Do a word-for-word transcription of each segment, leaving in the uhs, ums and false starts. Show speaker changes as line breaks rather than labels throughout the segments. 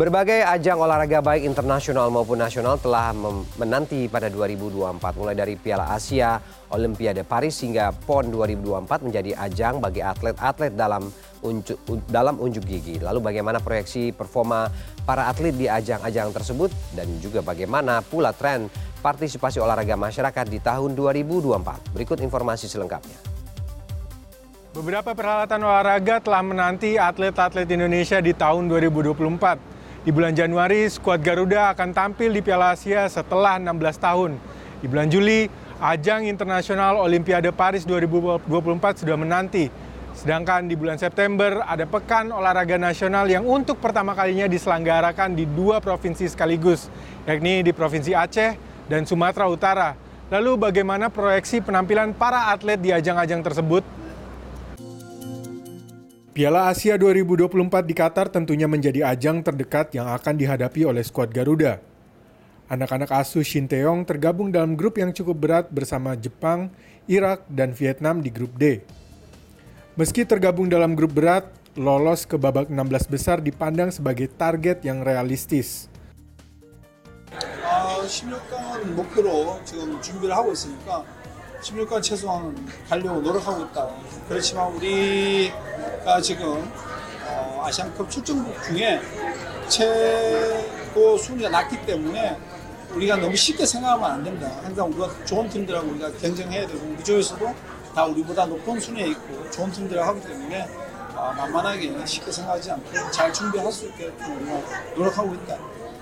Berbagai ajang olahraga baik internasional maupun nasional telah menanti pada dua ribu dua puluh empat, mulai dari Piala Asia, Olimpiade Paris hingga PON dua ribu dua puluh empat menjadi ajang bagi atlet-atlet dalam unjuk, dalam unjuk gigi. Lalu bagaimana proyeksi performa para atlet di ajang-ajang tersebut dan juga bagaimana pula tren partisipasi olahraga masyarakat di tahun dua ribu dua puluh empat. Berikut informasi selengkapnya.
Beberapa peralatan olahraga telah menanti atlet-atlet Indonesia di tahun dua ribu dua puluh empat. Di bulan Januari, skuad Garuda akan tampil di Piala Asia setelah enam belas tahun. Di bulan Juli, ajang internasional Olimpiade Paris dua ribu dua puluh empat sudah menanti. Sedangkan di bulan September, ada Pekan Olahraga Nasional yang untuk pertama kalinya diselenggarakan di dua provinsi sekaligus, yakni di Provinsi Aceh dan Sumatera Utara. Lalu bagaimana proyeksi penampilan para atlet di ajang-ajang tersebut? Piala Asia dua ribu dua puluh empat di Qatar tentunya menjadi ajang terdekat yang akan dihadapi oleh skuad Garuda. Anak-anak asuh Shin Tae-yong tergabung dalam grup yang cukup berat bersama Jepang, Irak, dan Vietnam di grup D. Meski tergabung dalam grup berat, lolos ke babak enam belas besar dipandang sebagai target yang realistis.
아, 십육 강 목표로 지금 준비를 하고 있으니까 십육 강 최소한 가려고 노력하고 있다. 그렇지만 우리가 지금 어, 아시안컵 출전국 중에 최고 순위가 낮기 때문에 우리가 너무 쉽게 생각하면 안 된다. 항상 우리가 좋은 팀들하고 우리가 경쟁해야 되고 우리 조에서도 다 우리보다 높은 순위에 있고 좋은 팀들하고 하기 때문에 어, 만만하게 쉽게 생각하지 않고 잘 준비할 수 있게 우리가 노력하고 있다.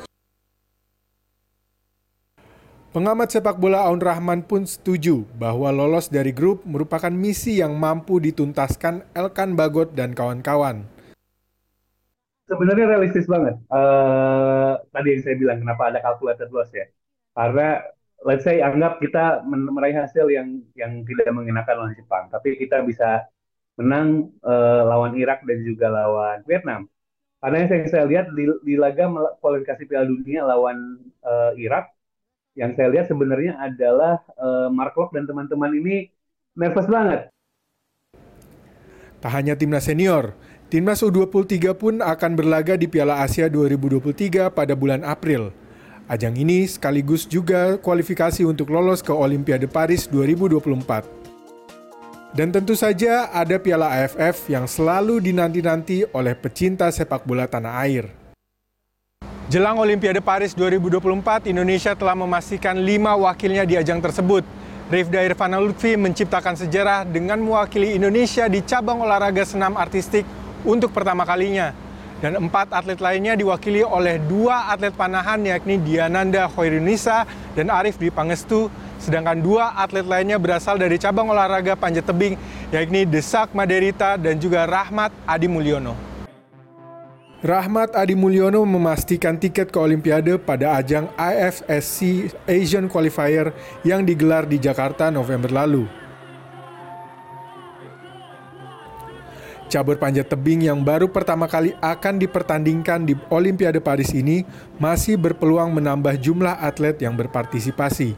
Pengamat sepak bola Aun Rahman pun setuju bahwa lolos dari grup merupakan misi yang mampu dituntaskan Elkan Bagot dan kawan-kawan.
Sebenarnya realistis banget. Uh, tadi yang saya bilang kenapa ada calculated loss ya. Karena let's say anggap kita meraih hasil yang yang tidak mengenakan lawan Jepang, tapi kita bisa menang uh, lawan Irak dan juga lawan Vietnam. Karena yang saya, saya lihat di, di laga kualifikasi Piala Dunia lawan uh, Irak, yang saya lihat sebenarnya adalah uh, Mark Locke dan teman-teman ini nervous banget.
Tak hanya timnas senior, timnas U dua puluh tiga pun akan berlaga di Piala Asia dua ribu dua puluh tiga pada bulan April. Ajang ini sekaligus juga kualifikasi untuk lolos ke Olimpiade Paris dua ribu dua puluh empat. Dan tentu saja ada Piala A F F yang selalu dinanti-nanti oleh pecinta sepak bola tanah air. Jelang Olimpiade Paris dua ribu dua puluh empat, Indonesia telah memastikan lima wakilnya di ajang tersebut. Rifda Irvana Lutfi menciptakan sejarah dengan mewakili Indonesia di cabang olahraga senam artistik untuk pertama kalinya. Dan empat atlet lainnya diwakili oleh dua atlet panahan yakni Diananda Hoirunisa dan Arif Dwi Pangestu. Sedangkan dua atlet lainnya berasal dari cabang olahraga panjat tebing yakni Desak Maderita dan juga Rahmat Adi Mulyono. Rahmat Adi Mulyono memastikan tiket ke Olimpiade pada ajang I F S C Asian Qualifier yang digelar di Jakarta November lalu. Cabur panjat tebing yang baru pertama kali akan dipertandingkan di Olimpiade Paris ini masih berpeluang menambah jumlah atlet yang berpartisipasi.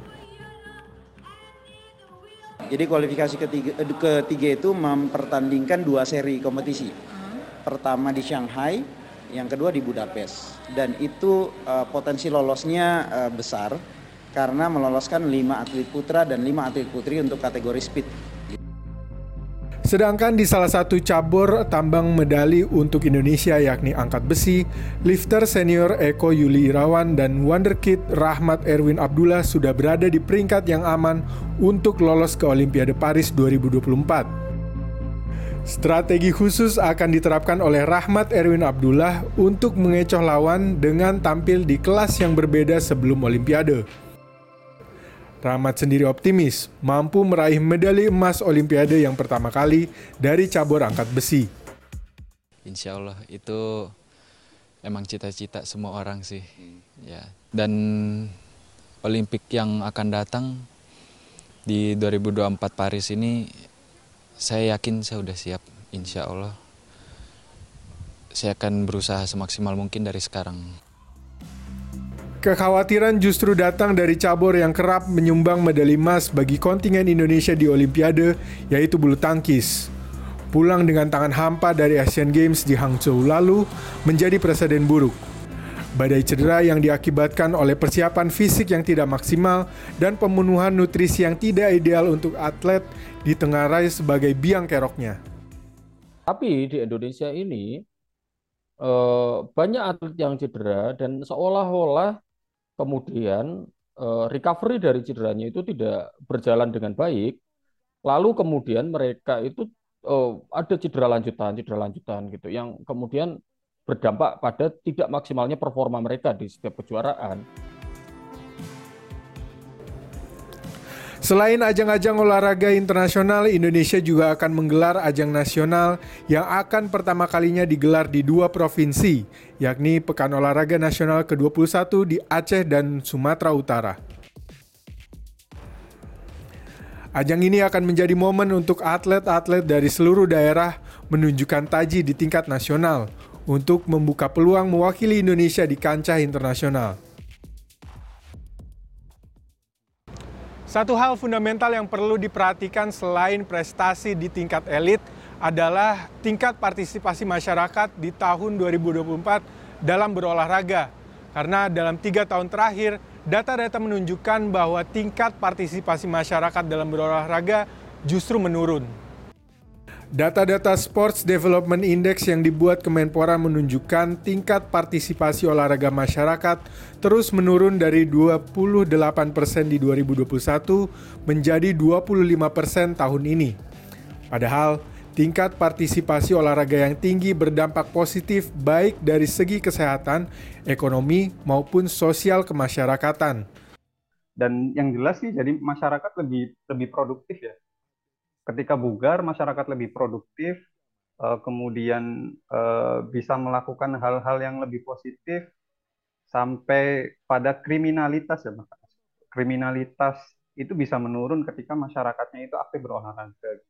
Jadi kualifikasi ketiga, ketiga itu mempertandingkan dua seri kompetisi. Pertama di Shanghai, yang kedua di Budapest, dan itu uh, potensi lolosnya uh, besar karena meloloskan lima atlet putra dan lima atlet putri untuk kategori speed.
Sedangkan di salah satu cabur tambang medali untuk Indonesia yakni angkat besi, lifter senior Eko Yuli Irawan dan wonderkid Rahmat Erwin Abdullah sudah berada di peringkat yang aman untuk lolos ke Olimpiade Paris dua ribu dua puluh empat. Strategi khusus akan diterapkan oleh Rahmat Erwin Abdullah untuk mengecoh lawan dengan tampil di kelas yang berbeda sebelum Olimpiade. Rahmat sendiri optimis mampu meraih medali emas Olimpiade yang pertama kali dari cabur angkat besi.
Insya Allah itu emang cita-cita semua orang sih. Ya. Dan Olimpik yang akan datang di dua ribu dua puluh empat Paris ini, saya yakin saya udah siap, insya Allah. Saya akan berusaha semaksimal mungkin dari sekarang.
Kekhawatiran justru datang dari cabur yang kerap menyumbang medali emas bagi kontingen Indonesia di Olimpiade, yaitu bulu tangkis. Pulang dengan tangan hampa dari Asian Games di Hangzhou lalu menjadi presiden buruk. Badai cedera yang diakibatkan oleh persiapan fisik yang tidak maksimal dan pemenuhan nutrisi yang tidak ideal untuk atlet ditengarai sebagai biang keroknya.
Tapi di Indonesia ini eh, banyak atlet yang cedera dan seolah-olah kemudian eh, recovery dari cederanya itu tidak berjalan dengan baik. Lalu kemudian mereka itu eh, ada cedera lanjutan, cedera lanjutan gitu yang kemudian berdampak pada tidak maksimalnya performa mereka di setiap kejuaraan.
Selain ajang-ajang olahraga internasional, Indonesia juga akan menggelar ajang nasional yang akan pertama kalinya digelar di dua provinsi, yakni Pekan Olahraga Nasional ke dua puluh satu di Aceh dan Sumatera Utara. Ajang ini akan menjadi momen untuk atlet-atlet dari seluruh daerah menunjukkan taji di tingkat nasional untuk membuka peluang mewakili Indonesia di kancah internasional. Satu hal fundamental yang perlu diperhatikan selain prestasi di tingkat elit adalah tingkat partisipasi masyarakat di tahun dua ribu dua puluh empat dalam berolahraga. Karena dalam tiga tahun terakhir, data-data menunjukkan bahwa tingkat partisipasi masyarakat dalam berolahraga justru menurun. Data-data Sports Development Index yang dibuat Kemenpora menunjukkan tingkat partisipasi olahraga masyarakat terus menurun dari dua puluh delapan persen di dua ribu dua puluh satu menjadi dua puluh lima persen tahun ini. Padahal, tingkat partisipasi olahraga yang tinggi berdampak positif baik dari segi kesehatan, ekonomi, maupun sosial kemasyarakatan.
Dan yang jelas sih, jadi masyarakat lebih lebih produktif ya. Ketika bugar, masyarakat lebih produktif, kemudian bisa melakukan hal-hal yang lebih positif, sampai pada kriminalitas ya, kriminalitas itu bisa menurun ketika masyarakatnya itu aktif berolahraga.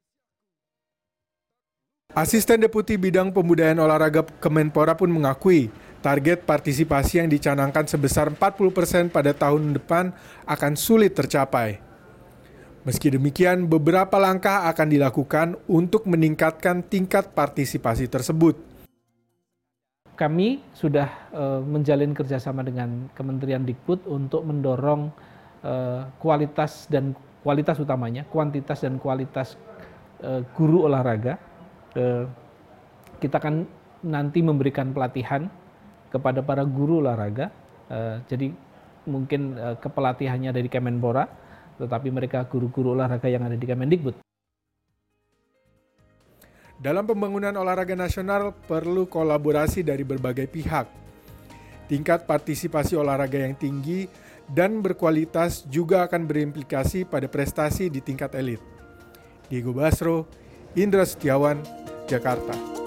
Asisten Deputi Bidang Pembudayaan Olahraga Kemenpora pun mengakui target partisipasi yang dicanangkan sebesar empat puluh persen pada tahun depan akan sulit tercapai. Meski demikian, beberapa langkah akan dilakukan untuk meningkatkan tingkat partisipasi tersebut.
Kami sudah uh, menjalin kerjasama dengan Kementerian Dikbud untuk mendorong uh, kualitas dan kualitas utamanya, kuantitas dan kualitas uh, guru olahraga. Uh, kita akan nanti memberikan pelatihan kepada para guru olahraga. Uh, jadi mungkin uh, kepelatihannya dari Kemenpora, tetapi mereka guru-guru olahraga yang ada di Kemendikbud.
Dalam pembangunan olahraga nasional perlu kolaborasi dari berbagai pihak. Tingkat partisipasi olahraga yang tinggi dan berkualitas juga akan berimplikasi pada prestasi di tingkat elit. Diego Basro, Indra Setiawan, Jakarta.